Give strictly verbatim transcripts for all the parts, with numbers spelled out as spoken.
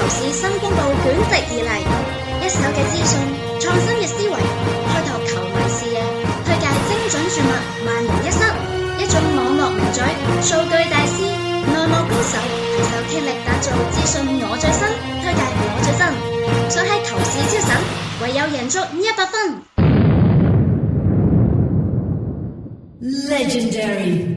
市新風暴捲席而嚟，一手嘅資訊，創新嘅思維，開拓球迷視野，推介精準注物，萬無一失。一種網絡名嘴，數據大師，內幕高手，攜手傾力打造資訊我最新，推介我最新，想喺球市超神，唯有贏足一百分。 Legendary。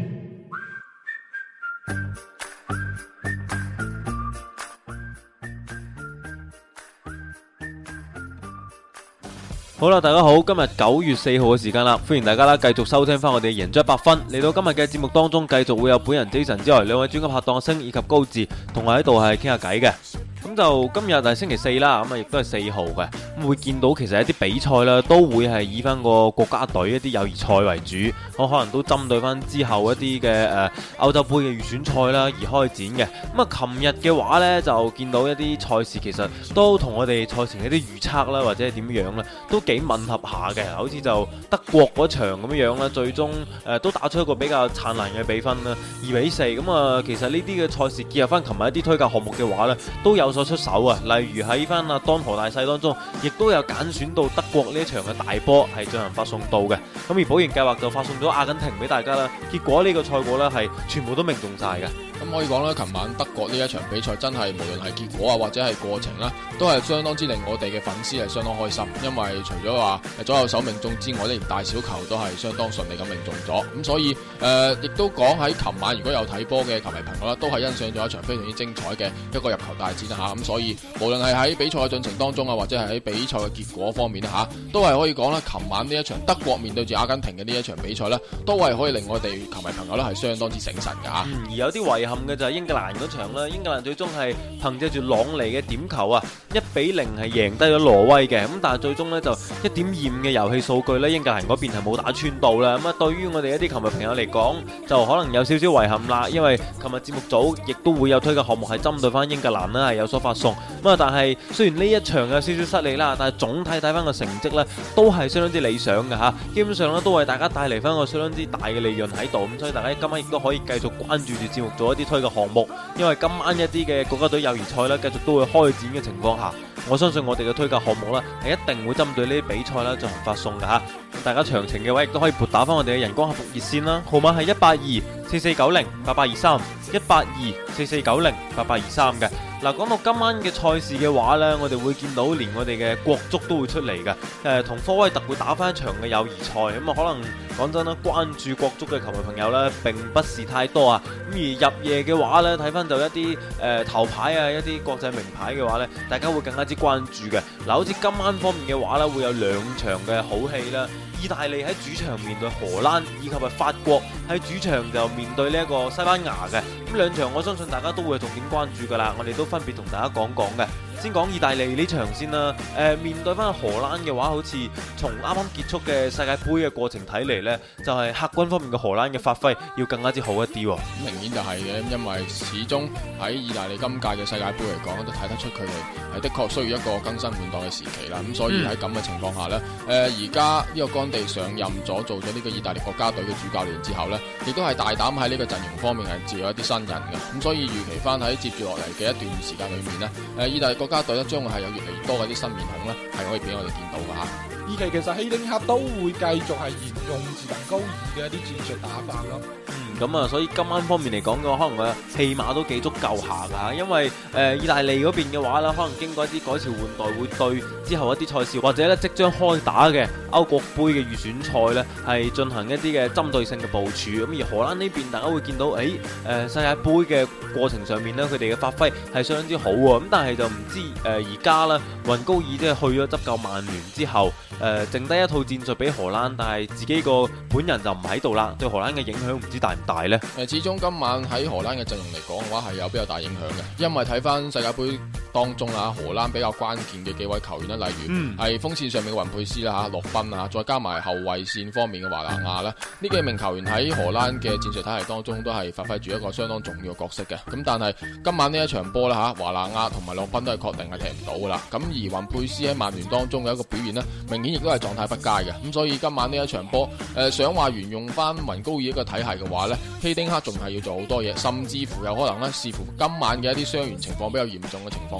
好啦，大家好，今日九月四號嘅時間啦，歡迎大家啦，繼續收聽翻我哋贏足一百分。嚟到今日嘅節目當中，繼續會有本人 Jason 之外，兩位專家拍檔星以及高志同我喺度係傾下偈嘅。咁就今日係星期四啦，咁啊亦都係四號嘅，咁會見到其實一啲比賽啦，都會係以翻個國家隊一啲友誼賽為主，我可能都針對翻之後一啲嘅誒歐洲杯嘅預選賽啦而開展嘅。咁啊，琴日嘅話呢，就見到一啲賽事其實都同我哋賽前一啲預測啦，或者係點樣呢，都幾吻合下嘅。好似就德國嗰場咁樣啦，最終誒、呃、都打出一個比較燦爛嘅比分啦，二比四。咁啊，其實呢啲嘅賽事結合翻琴日一啲推介項目嘅話呢，都有所出手啊。例如喺翻阿當河大細當中，亦都有揀選到德國呢一場嘅大波係進行發送到嘅。咁而保研計劃就發送咗阿根廷俾大家啦。結果呢個賽果呢係全部都命中晒嘅。 咁可以講啦，琴晚德國呢一場比賽真係無論係結果啊或者係過程啦，都係相當之令我哋嘅粉絲係相當開心。因為除咗話左右手命中之外，連大小球都係相當順利咁命中咗。咁所以誒，亦、呃、都講喺琴晚如果有睇波嘅球迷朋友啦，都係欣賞咗一場非常之精彩嘅一個入球大戰啦吓。咁所以無論係喺比賽嘅進程當中啊，或者係喺比賽嘅結果方面啦吓，都係可以講啦。琴晚呢一場德國面對住阿根廷嘅呢一場比賽咧，都係可以令我哋球迷朋友咧係相當之醒神噶吓。 嗯，而有啲遺憾嘅就係英格蘭嗰場啦，英格蘭最終係憑借住朗尼嘅點球啊，一比零係贏低咗挪威嘅。咁但係最終呢，就一點二五嘅遊戲數據呢，英格蘭嗰邊係冇打穿到啦。咁啊，對於我哋一啲球迷朋友嚟講，就可能有少少遺憾啦。因為琴日節目組亦都會有推介項目係針對翻英格蘭啦，係有所發送。咁啊，但係雖然呢一場有少少失利啦，但係總體睇翻個成績呢，都係相當之理想嘅吓。基本上呢，都為大家帶嚟翻個相當之大嘅利潤喺度。咁所以大家今晚亦都可以繼續關注住節目組一啲推介項目。因為今晚一啲嘅國家隊友誼賽咧，繼續都會開展嘅情況下，我相信我哋嘅推介項目咧係一定會針對呢啲比賽咧進行發送嘅吓。大家詳情嘅話，亦都可以撥打翻我哋嘅人工客服熱線啦，號碼係一八二四四九零八八二三，一八二四四九零八八二三嘅。嗱，講到今晚嘅賽事嘅話呢，我哋會見到連我哋嘅國足都會出嚟嘅，誒、呃、同科威特會打翻一場嘅友誼賽，咁啊可能講真啦，關注國足嘅球迷朋友呢並不是太多啊，咁而入夜嘅話呢，睇翻就一啲誒、呃、頭牌啊，一啲國際名牌嘅話呢，大家會更加之關注嘅。嗱，好似今晚方面嘅話呢，會有兩場嘅好戲啦。意大利喺主場面對荷蘭，以及係法國喺主場就面對呢一個西班牙嘅，咁兩場我相信大家都會重點關注噶啦，我哋都分別同大家講講嘅。先講意大利呢場先啦，誒、呃、面對翻荷蘭嘅話，好似從啱啱結束嘅世界盃嘅過程睇嚟呢，就係、是、客軍方面嘅荷蘭嘅發揮要更加之好一啲喎。 明顯就係嘅，因為始終喺意大利今屆嘅世界盃嚟講，都睇得出佢哋係的確需要一個更新換代嘅時期啦。咁所以喺咁嘅情況下呢，誒而家呢個干地上任咗做咗呢個意大利國家隊嘅主教練之後呢，亦都係大膽喺呢個陣容方面係接咗一啲新人嘅。咁所以預期翻喺接住落嚟嘅一段時間裏面呢，誒意大利國家隊咧將會係有越嚟越多嘅啲新面孔咧，係可以俾我哋見到噶吓。 二期其實希丁克都會繼續係沿用自能高爾嘅一啲戰術打法咯。 咁啊，所以今晚方面嚟講嘅話，可能個戲碼都幾足夠下㗎，因為誒、呃、意大利嗰邊嘅話啦，可能經過一啲改朝換代，會對之後一啲賽事或者咧即將開打嘅歐國杯嘅預選賽咧，係進行一啲嘅針對性嘅部署。咁而荷蘭呢邊，大家會見到，誒誒、呃、世界盃嘅過程上面咧，佢哋嘅發揮係相當之好喎。咁但係就唔知誒而家啦，雲高爾即係去咗執教曼聯之後，誒、呃、剩低一套戰術俾荷蘭，但係自己個本人就唔喺度啦，對荷蘭嘅影響唔知大唔大？誒， 始終今晚喺荷蘭嘅陣容嚟講嘅話係有比較大影響嘅，因為睇翻世界盃當中啊，荷蘭比較關鍵嘅幾位球員啦，例如係鋒線上面嘅雲佩斯啦吓，洛賓啊，再加埋後衛線方面嘅華拿亞啦，呢幾名球員喺荷蘭嘅戰術體系當中都係發揮住一個相當重要嘅角色嘅。咁但係今晚呢一場波啦吓，華拿亞同埋洛賓都係確定係踢唔到噶啦。咁而雲佩斯喺曼聯當中嘅一個表現呢，明顯亦都係狀態不佳嘅。咁所以今晚呢一場波，誒、呃、想話沿用翻雲高爾一個體系嘅話呢，希丁克仲係要做好多嘢，甚至乎有可能咧，視乎今晚嘅一啲傷員情況比較嚴重嘅情況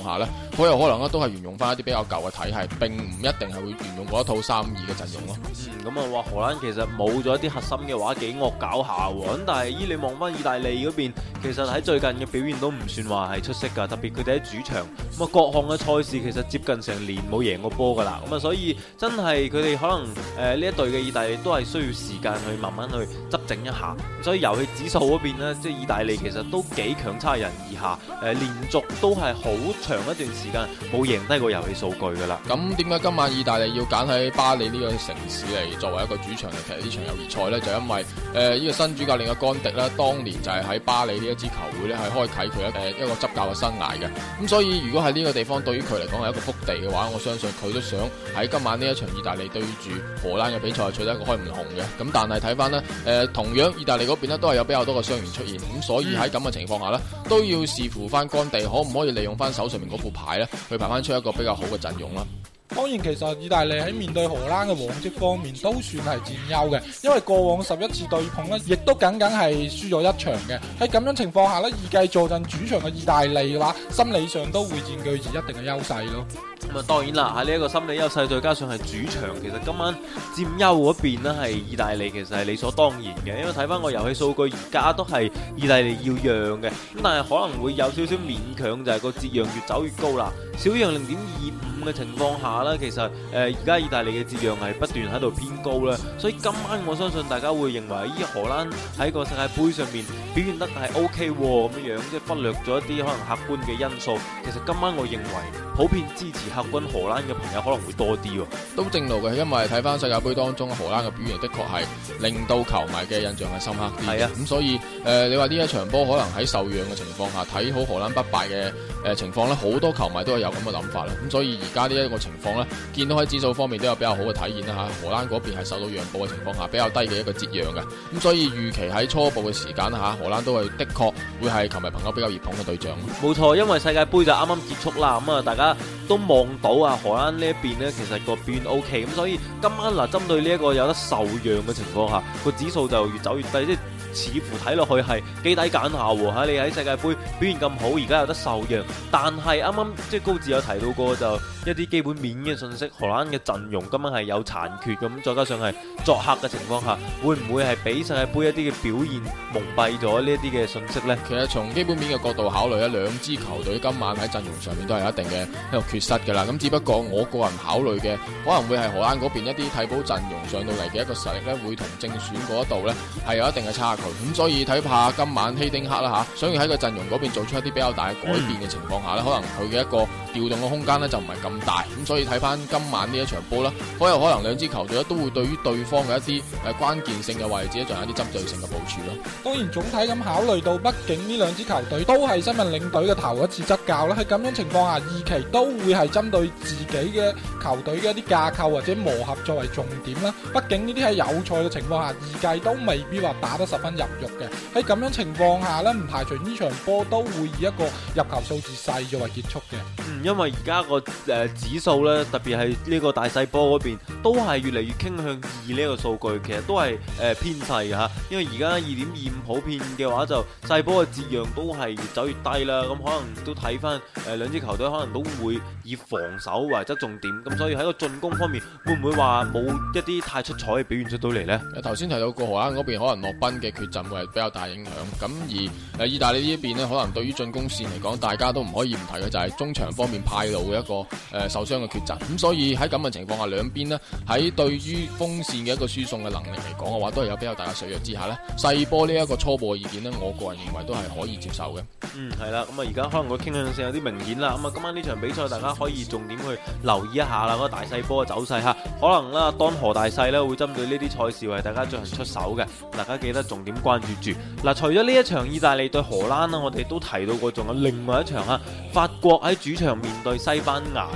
況下呢，好有可能咧都係沿用翻一啲比較舊嘅體系，並唔一定係會沿用嗰一套三五二嘅陣容咯。 嗯，咁啊話荷蘭其實冇咗一啲核心嘅話幾惡搞下喎，咁但係依你望翻意大利嗰邊，其實喺最近嘅表現都唔算話係出色㗎，特別佢哋喺主場咁啊各項嘅賽事其實接近成年冇贏過波㗎啦，咁啊所以真係佢哋可能誒呢、呃、一隊嘅意大利都係需要時間去慢慢去執整一下，所以遊戲指數嗰邊呢，即係意大利其實都幾強差人意下，誒、呃、連續都係好長一段時間冇贏低過遊戲數據㗎啦。 咁點解今晚意大利要揀喺巴黎呢個城市嚟作為一個主場嚟踢呢場友誼賽呢？就因為誒呢、呃這個新主教練嘅干迪呢，當年就係喺巴黎呢一支球會呢，係開啟佢一誒一個執教嘅生涯嘅。咁所以如果喺呢個地方對於佢嚟講係一個福地嘅話，我相信佢都想喺今晚呢一場意大利對住荷蘭嘅比賽取得一個開門紅嘅。咁但係睇翻呢，誒、呃、同樣意大利嗰邊呢都係有比較多嘅傷員出現，咁所以喺咁嘅情況下呢，都要視乎翻干地可唔可以利用翻手上面嗰副牌呢，去排翻出一個比較好嘅陣容啦。 當然，其實意大利喺面對荷蘭嘅往績方面都算係佔優嘅，因為過往十一次對碰呢，亦都僅僅係輸咗一場嘅。喺咁樣情況下呢，預計坐鎮主場嘅意大利嘅話，心理上都會佔據住一定嘅優勢咯。 咁啊，當然啦，喺呢一個心理優勢，再加上係主場，其實今晚佔優嗰邊呢係意大利，其實係理所當然嘅。因為睇翻個遊戲數據，而家都係意大利要讓嘅，咁但係可能會有少少勉強，就係個折讓越走越高啦。小讓零點二五嘅情況下呢，其實誒而家意大利嘅折讓係不斷喺度偏高啦，所以今晚我相信大家會認為依荷蘭喺個世界盃上面表現得係 O K 咁樣樣，即係忽略咗一啲可能客觀嘅因素。其實今晚我認為普遍支持客軍荷蘭嘅朋友可能會多啲喎， 都正路嘅，因為睇翻世界盃當中荷蘭嘅表現的確係令到球迷嘅印象係深刻啲。係啊，咁所以誒、呃、你話呢一場波可能喺受讓嘅情況下睇好荷蘭不敗嘅誒、呃、情況咧，好多球迷都係有咁嘅諗法啦。咁所以而家呢一個情況咧，見到喺指數方面都有比較好嘅體現啦嚇。荷蘭嗰邊係受到讓步嘅情況下比較低嘅一個折讓嘅，咁所以預期喺初步嘅時間嚇，荷蘭都係的確會係球迷朋友比較熱捧嘅對象。 冇錯，因為世界盃就啱啱結束啦，咁啊大家都望到啊荷蘭呢一邊呢，其實個表現 O K，咁所以今晚嗱針對呢一個有得受讓嘅情況下，個指數就越走越低，即係似乎睇落去係幾抵揀下喎嚇。你喺世界盃表現咁好，而家有得受讓，但係啱啱即係高志有提到過就一啲基本面嘅信息，荷蘭嘅陣容今晚係有殘缺咁，再加上係作客嘅情況下，會唔會係俾世界盃一啲嘅表現蒙蔽咗呢一啲嘅信息呢？ 其實從基本面嘅角度考慮咧，兩支球隊今晚喺陣容上面都係有一定嘅一個缺失㗎啦。咁只不過我個人考慮嘅可能會係荷蘭嗰邊一啲替補陣容上到嚟嘅一個實力咧，會同正選嗰一度咧係有一定嘅差距。咁所以睇怕今晚希丁克啦嚇，想要喺個陣容嗰邊做出一啲比較大嘅改變嘅情況下咧，可能佢嘅一個調動嘅空間咧就唔係咁大。咁所以睇翻今晚呢一場波啦，好有可能兩支球隊咧都會對於對方嘅一啲誒關鍵性嘅位置咧進行一啲針對性嘅部署咯。 當然總體咁考慮到，畢竟呢兩支球隊都係新任領隊嘅頭一次執教啦，喺咁樣情況下，二期都會係針對自己嘅球隊嘅一啲架構或者磨合作為重點啦。畢竟呢啲喺有賽嘅情況下，二季都未必話打得十分入肉嘅。喺咁樣情況下呢，唔排除呢場波都會以一個入球數字細作為結束嘅。 嗯，因為而家個誒指數呢，特別係呢個大細波嗰邊，都係越嚟越傾向二呢個數據，其實都係誒、呃、偏細嘅嚇。因為而家二點二五普遍嘅話，就細波嘅折讓都係越走越低啦。咁可能都睇翻誒兩支球隊可能都會以防守為側重點，咁所以喺個進攻方面會唔會話冇一啲太出彩嘅表現出到嚟呢？ 頭先提到過荷蘭嗰邊可能洛賓嘅缺陣會係比較大影響，咁而誒意大利呢一邊呢，可能對於進攻線嚟講，大家都唔可以唔提嘅就係中場方面派路嘅一個誒、呃、受傷嘅缺陣。咁所以喺咁嘅情況下，兩邊呢喺對於鋒線嘅一個輸送嘅能力嚟講嘅話，都係有比較大嘅削弱之下呢，細波呢一個初步嘅意見呢，我個人認為都係可以接受嘅。 嗯，係啦，咁啊而家可能個傾向性有啲明顯啦。咁啊今晚呢場比賽，大家可以重點去留意一下啦，嗰、那個大細波嘅走勢嚇。可能啦，當何大細咧會針對呢啲賽事為大家進行出手嘅，大家記得重點關注住。嗱，除咗呢一場意大利對荷蘭啦，我哋都提到過，仲有另外一場嚇，法國喺主場面對西班牙嘅。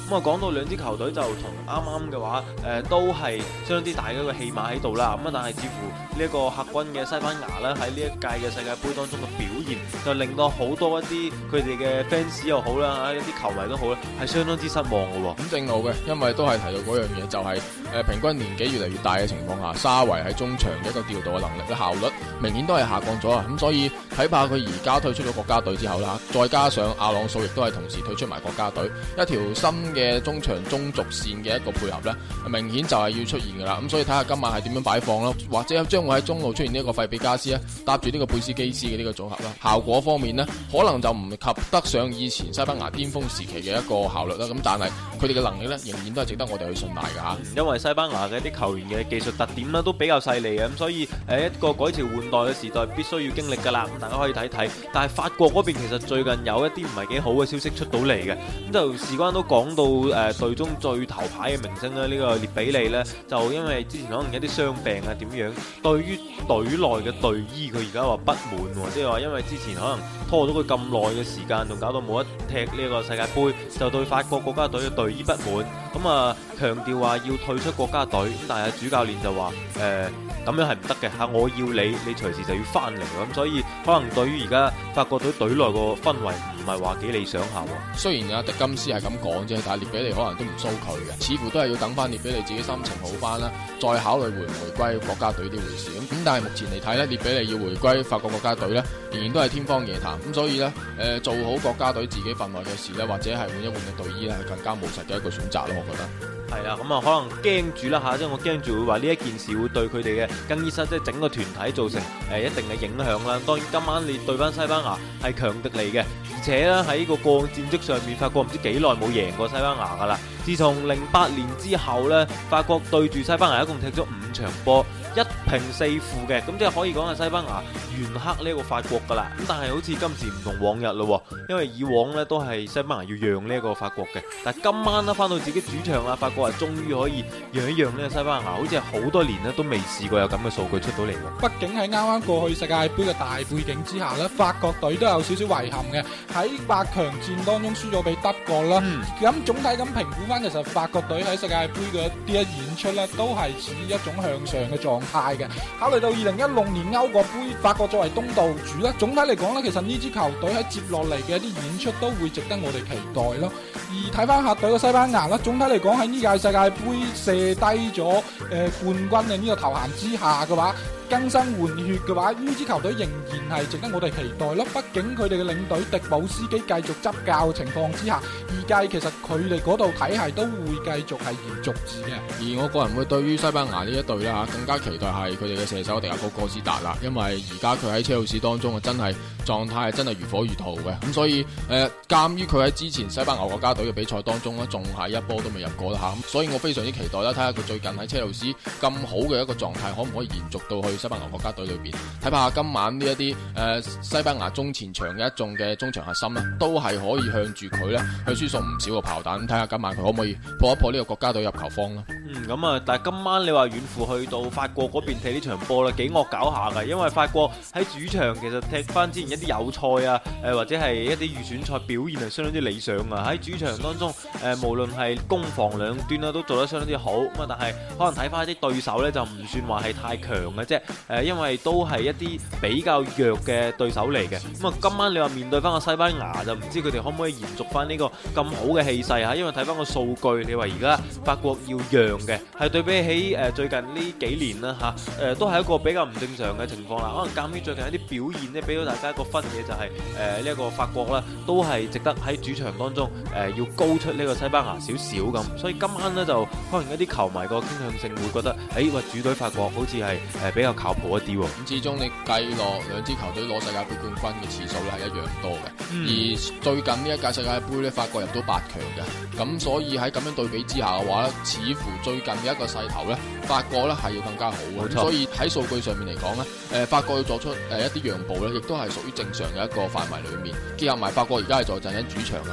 咁啊講到兩支球隊就同啱啱嘅話，誒、呃、都係相當之大嘅一個戲碼喺度啦。咁啊但係似乎呢一個客軍嘅西班牙咧喺呢一屆嘅世界盃當中嘅表現，就令到好多一啲佢哋嘅 fans 又好啦，一啲球迷都好啦，係相當之失望嘅喎。 咁正路嘅，因為都係提到嗰樣嘢，就係、是、誒、呃、平均年紀越嚟越大嘅情況下，沙維喺中場嘅一個調度嘅能力嘅效率明顯都係下降咗啊！咁所以睇怕佢而家退出咗國家隊之後啦，再加上阿朗素亦都係同時退出埋國家隊，一條新嘅中場中軸線嘅一個配合呢，明顯就係要出現噶啦。咁所以睇下今晚係點樣擺放咯，或者將會喺中路出現呢一個費比加斯咧，搭住呢個貝斯基斯嘅呢個組合啦。效果方面呢，可能就唔及得上以前西班牙巔峰時期嘅一個效率啦。咁但係佢哋嘅能力呢，仍然都係值得我哋去信賴噶吓。 因為西班牙嘅啲球員嘅技術特點呢，都比較犀利嘅，咁所以誒一個改朝換代嘅時代必須要經歷噶啦。咁大家可以睇睇，但係法國嗰邊其實最近有一啲唔係幾好嘅消息出到嚟嘅，咁就事關都講到誒隊中最頭牌嘅明星咧，呢、這個列比利呢，就因為之前可能一啲傷病啊點樣，對於隊內嘅隊醫佢而家話不滿，即係話因為之前可能拖咗佢咁耐嘅時間，仲搞到冇得踢呢個世界盃，就對法國國家隊嘅隊醫不滿，咁啊強調話要退出國家隊，咁但係主教練就話誒咁樣係唔得嘅嚇，我要你，你隨時就要翻嚟，咁所以可能對於而家法國隊隊內個氛圍唔係話幾理想下喎。 雖然阿迪金斯係咁講啫，但係列比利可能都唔騷佢嘅，似乎都係要等翻列比利自己心情好翻啦，再考慮回唔回歸國家隊呢回事。咁咁但係目前嚟睇呢，列比利要回歸法國國家隊呢，仍然都係天方夜譚。咁所以呢，誒、呃、做好國家隊自己份內嘅事呢，或者係換一換嘅隊醫咧，係更加務實嘅一個選擇咯，我覺得。 係啦，咁啊可能驚住啦嚇，即係我驚住會話呢一件事會對佢哋嘅更衣室即係整個團體造成誒、呃、一定嘅影響啦。當然今晚你對翻西班牙係強敵嚟嘅，而且咧喺個過往戰績上面，法國唔知幾耐冇贏過西班牙噶啦。自從零八年之後呢，法國對住西班牙一共踢咗五場波，一平四負嘅，咁即係可以講係西班牙完克呢個法國噶啦。咁但係好似今時唔同往日咯，因為以往呢都係西班牙要讓呢一個法國嘅，但係今晚呢翻到自己主場啦，法國係終於可以讓一讓呢個西班牙，好似係好多年呢都未試過有咁嘅數據出到嚟喎。 畢竟喺啱啱過去世界盃嘅大背景之下呢，法國隊都有少少遺憾嘅，喺八強戰當中輸咗俾德國啦。咁、嗯、總體咁評估翻，其實法國隊喺世界盃嘅啲一演出呢，都係處於一種向上嘅狀態嘅。考慮到二零一六年歐國盃，法國作為東道主啦，總體嚟講呢，其實呢支球隊喺接落嚟嘅一啲演出都會值得我哋期待咯。而睇翻客隊嘅西班牙啦，總體嚟講喺呢屆世界盃射低咗誒、呃、冠軍嘅呢個頭銜之下嘅話，更新換血嘅話，呢支球隊仍然係值得我哋期待咯。畢竟佢哋嘅領隊迪保斯基繼續執教嘅情況之下，二屆其實佢哋嗰度體系都會繼續係延續住嘅。 而我個人會對於西班牙呢一隊啦嚇，更加期待係佢哋嘅射手迪亞高哥斯達啦，因為而家佢喺車路士當中啊，真係狀態係真係如火如荼嘅。咁所以誒，鑑於佢喺之前西班牙國家隊嘅比賽當中咧，仲係一波都未入過啦嚇，所以我非常之期待啦，睇下佢最近喺車路士咁好嘅一個狀態，可唔可以延續到去西班牙國家隊裏邊？睇下今晚呢一啲誒西班牙中前場嘅一眾嘅中場核心咧，都係可以向住佢咧去輸送唔少嘅炮彈。睇下今晚佢可唔可以破一破呢個國家隊入球荒啦？ 嗯，咁啊，但係今晚你話遠赴去到法國嗰邊踢呢場波啦，幾惡搞下㗎，因為法國喺主場其實踢翻之前一啲友賽啊，誒或者係一啲預選賽表現係相當之理想啊。喺主場當中，誒無論係攻防兩端啦，都做得相當之好。咁啊，但係可能睇翻一啲對手咧，就唔算話係太強嘅啫。誒，因為都係一啲比較弱嘅對手嚟嘅。咁啊，今晚你話面對翻個西班牙，就唔知佢哋可唔可以延續翻呢個咁好嘅氣勢嚇？因為睇翻個數據，你話而家法國要讓嘅係對比起誒最近呢幾年啦嚇，誒都係一個比較唔正常嘅情況啦。可能鑑於最近一啲表現咧，俾到大家一個分野就係誒呢一個法國啦，都係值得喺主場當中誒要高出呢個西班牙少少咁。所以今晚呢，就可能一啲球迷個傾向性會覺得，誒、哎、喂主隊法國好似係誒比較靠譜一啲喎。 咁始終你計落兩支球隊攞世界盃冠軍嘅次數咧係一樣多嘅，嗯、而最近呢一屆世界盃咧法國入到八強嘅，咁所以喺咁樣對比之下嘅話咧，似乎最近嘅一個勢頭咧，法國咧係要更加好嘅。所以喺數據上面嚟講咧，誒法國要作出誒一啲讓步咧，亦都係屬於正常嘅一個範圍裏面。結合埋法國而家係坐鎮喺主場嚇，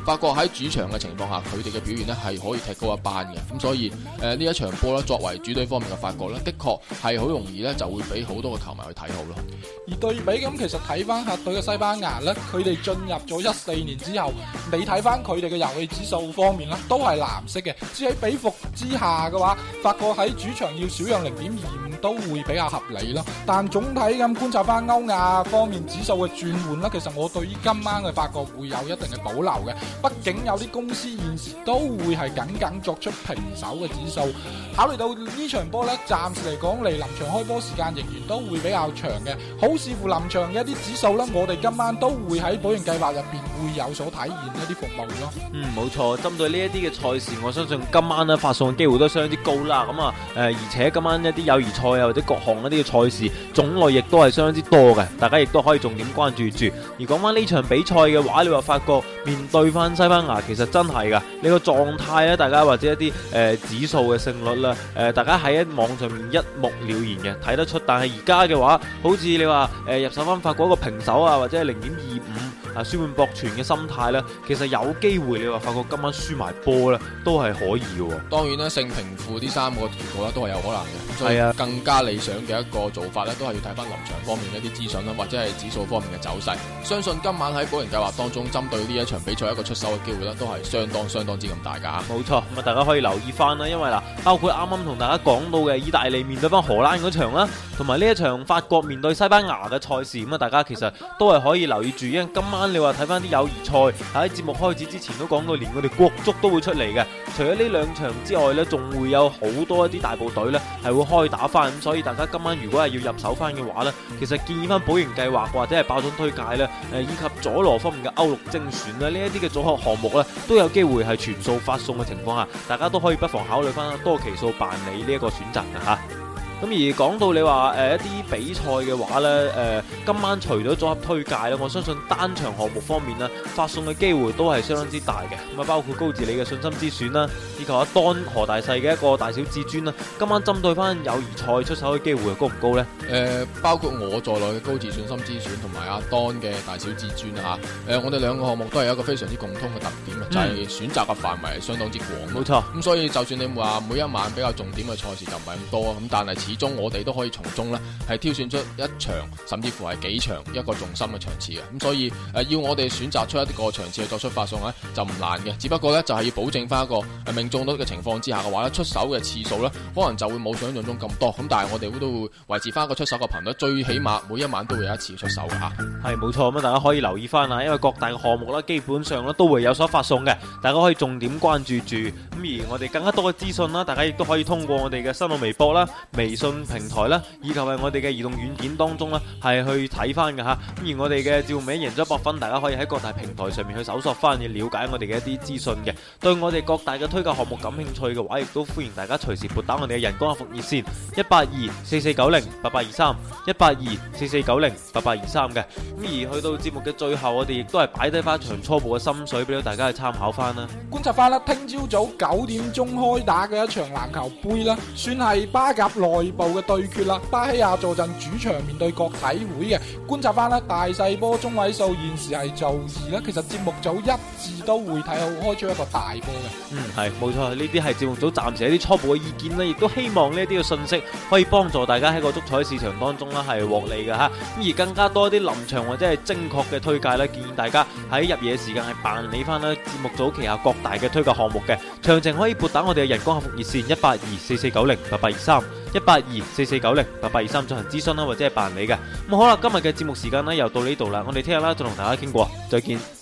法國喺主場嘅情況下，佢哋嘅表現呢係可以踢高一班嘅。咁所以誒呢、呃、一場波咧，作為主隊方面嘅法國呢，的確係好容易呢就會俾好多嘅球迷去睇好咯。 而對比咁，其實睇翻客隊嘅西班牙呢，佢哋進入咗一四年之後，你睇翻佢哋嘅遊戲指數方面啦，都係藍色嘅。只喺比伏之下嘅話，法國喺主場要少讓零點二五都會比較合理咯。但總體咁觀察翻歐亞方面指數嘅轉換啦，其實我對於今晚嘅法國會有一定嘅保留嘅。畢竟有啲公司現時都會係僅僅作出平手嘅指數。考慮到呢場波呢，暫時嚟講離臨場開波時間仍然都會比較長嘅，好視乎臨場嘅一啲指數啦。我哋今晚都會喺保贏計劃入邊會有所體現一啲服務咯。 嗯，冇錯。針對呢一啲嘅賽事，我相信今晚咧發送嘅機會都相當之高啦。咁啊，誒，而且今晚一啲友誼賽啊或者各項一啲嘅賽事種類亦都係相當之多嘅，大家亦都可以重點關注住。而講翻呢場比賽嘅話，你話法國面對翻西班牙，其實真係噶，你個狀態咧，大家或者一啲誒、呃、指數嘅勝率啦，誒、呃，大家喺網上面一目了然嘅睇得出。但係而家嘅話，好似你話誒、呃、入手翻法國一個平手啊，或者係零點二五啊，舒緩博全嘅心態咧，其實有機會你話法國今晚輸埋波咧，都係可以嘅。當然啦，勝平負呢三個結果咧都係有可能嘅。所以啊，更加理想嘅一個做法咧，都係要睇翻臨場方面嘅一啲資訊啦，或者係指數方面嘅走勢。相信今晚喺保贏計劃當中，針對呢一場比賽一個出手嘅機會咧，都係相當相當之咁大噶。冇錯，咁啊大家可以留意翻啦，因為嗱，包括啱啱同大家講到嘅意大利面對翻荷蘭嗰場啦，同埋呢一場法國面對西班牙嘅賽事，咁啊大家其實都係可以留意住，因為今晚你話睇翻啲友誼賽喺節目開始之前都講到，連我哋國足都會出嚟嘅。除咗呢兩場之外呢，仲會有好多一啲大部隊呢係會開打翻，咁所以大家今晚如果係要入手翻嘅話呢，其實建議翻保贏計劃或者係爆樽推介呢，誒以及佐羅方面嘅歐陸精選呢，呢一啲嘅組合項目呢，都有機會係全數發送嘅情況下，大家都可以不妨考慮翻多期數辦理呢一個選擇嘅吓。咁而講到你話誒、呃、一啲比賽嘅話呢，誒、呃、今晚除咗組合推介咧，我相信單場項目方面呢，發送嘅機會都係相當之大嘅。咁啊，包括高治理嘅信心之選啦，以及阿當何大細嘅一個大小至尊啦。今晚針對翻友誼賽出手嘅機會高唔高呢？誒、呃，包括我在內嘅高治信心之選同埋阿當嘅大小至尊啊嚇。誒，我哋兩個項目都係一個非常之共通嘅特點啊，嗯、就係選擇嘅範圍係相當之廣。冇錯。咁所以就算你話每一晚比較重點嘅賽事就唔係咁多，咁但係始終我哋都可以從中咧係挑選出一場甚至乎係幾場一個重心嘅場次嘅，咁所以誒、呃、要我哋選擇出一個場次去作出發送咧就唔難嘅，只不過咧就係、是、要保證翻一個誒命中率嘅情況之下嘅話咧，出手嘅次數咧可能就會冇想象中咁多，咁但係我哋都會維持翻一個出手嘅頻率，最起碼每一晚都會有一次出手嘅吓。係冇錯，咁大家可以留意翻啊，因為各大嘅項目咧基本上咧都會有所發送嘅，大家可以重點關注住。咁而我哋更加多嘅資訊啦，大家亦都可以通過我哋嘅新浪微博啦、微信平台啦，以及係我哋嘅移動軟件當中啦，係去睇翻嘅吓。咁而我哋嘅趙美贏咗一百分，大家可以喺各大平台上面去搜索翻，去了解我哋嘅一啲資訊嘅。對我哋各大嘅推介項目感興趣嘅話，亦都歡迎大家隨時撥打我哋嘅人工客服熱線一八二四四九零八八二三一八二四四九零八八二三嘅。咁而去到節目嘅最後，我哋亦都係擺低翻一場初步嘅心水俾到大家去參考翻啦。觀察翻啦，聽朝早九點鐘開打嘅一場籃球杯啦，算係巴甲內部嘅對決啦。巴希亞坐鎮主場面對國體會嘅，觀察翻啦，大細波中位數現時係做二啦。其實節目組一致都會睇好開出一個大波嘅。嗯，係冇錯，呢啲係節目組暫時一啲初步嘅意見啦，亦都希望呢啲嘅信息可以幫助大家喺個足彩市場當中啦係獲利嘅吓。咁而更加多啲臨場或者係精確嘅推介咧，建議大家喺入夜時間係辦理翻啦節目組旗下各大嘅推介項目嘅。詳情可以撥打我哋嘅人工客服熱線一八二四四九零八八二三一八二四四九零八八二三進行諮詢啦，或者係辦理嘅。咁好啦，今日嘅節目時間呢又到呢度啦，我哋聽日啦再同大家傾過，再見。